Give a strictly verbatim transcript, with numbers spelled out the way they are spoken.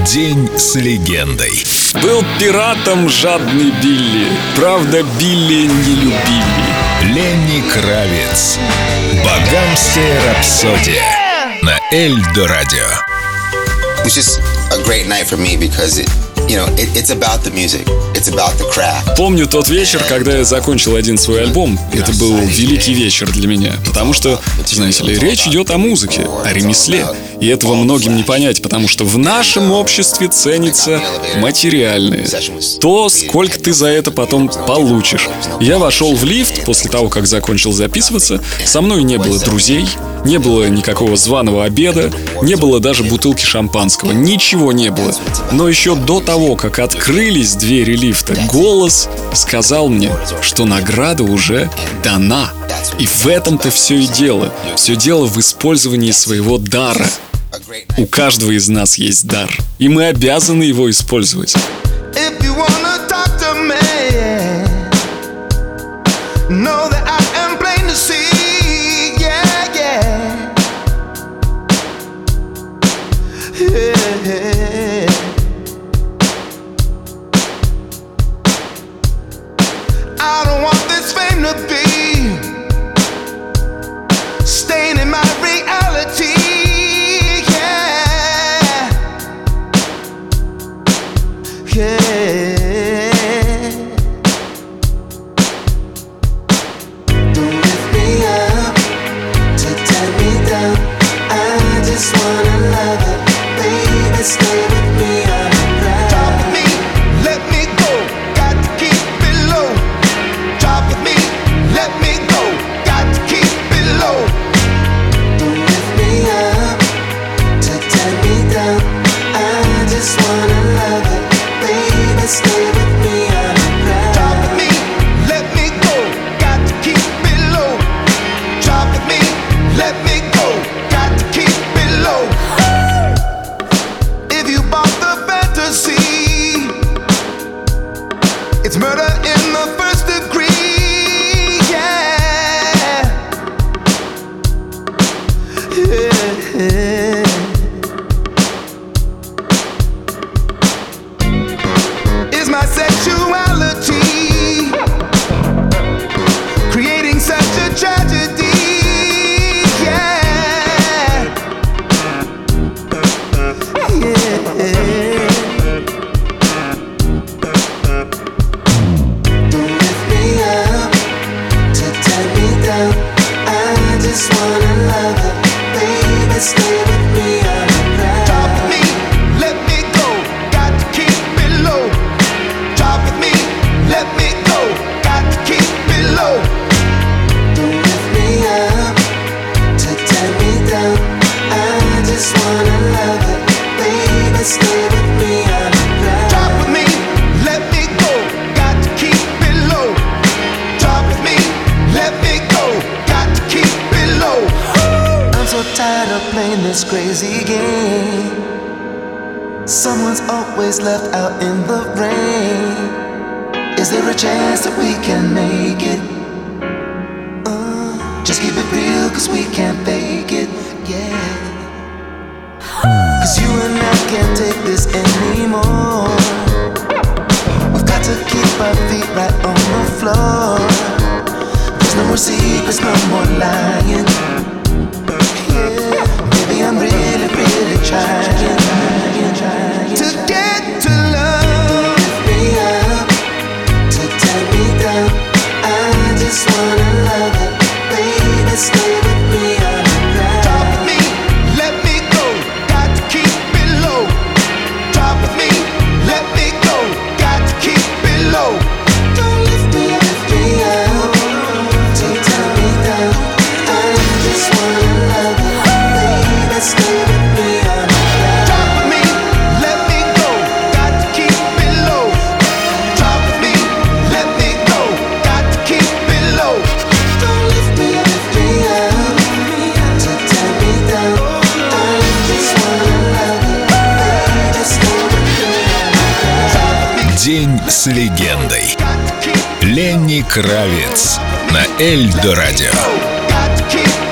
День с легендой. Был пиратом жадный Билли, правда, Билли не любили. Ленни Кравиц. Багамская рапсодия на Эльдо Радио. It was just a great night for me because it, you know, it, it's about the music, it's about the craft. Помню тот вечер, когда я закончил один свой альбом. Это был великий вечер для меня, потому что, знаете ли, речь идет о музыке, о ремесле. И этого многим не понять, потому что в нашем обществе ценится материальное. То, сколько ты за это потом получишь. Я вошел в лифт после того, как закончил записываться. Со мной не было друзей, не было никакого званого обеда, не было даже бутылки шампанского. Ничего не было. Но еще до того, как открылись двери лифта, голос сказал мне, что награда уже дана. И в этом-то все и дело. Все дело в использовании своего дара. У каждого из нас есть дар, и мы обязаны его использовать. It's murder in the first degree, yeah. Yeah. Is my sexuality creating such a tragedy? Yeah. Yeah. Tired of playing this crazy game. Someone's always left out in the rain. Is there a chance that we can make it? Uh, just keep it real, cause we can't fake it, yeah. Cause you and I can't take this anymore. We've got to keep our feet right on the floor. There's no more secrets, no more lying. I'm really, really trying, trying, trying to get to love. Lift me up, to tie me down. I just wanna love it, baby. Stay with me on the ground. Drop me, let me go. Got to keep it low. Drop me, let me go. Got to keep it low. Don't lift me, lift me up, to tie me down. I just wanna love it. Stay with me on the ground. Drop me, let me go. Got to keep it low. Drop me, let me go. Got to keep it low. Don't lift me, lift me up, to tie me down. I just wanna love you, baby. Stay with me on the ground. День с легендой. Ленни Кравиц на Эльдо Радио.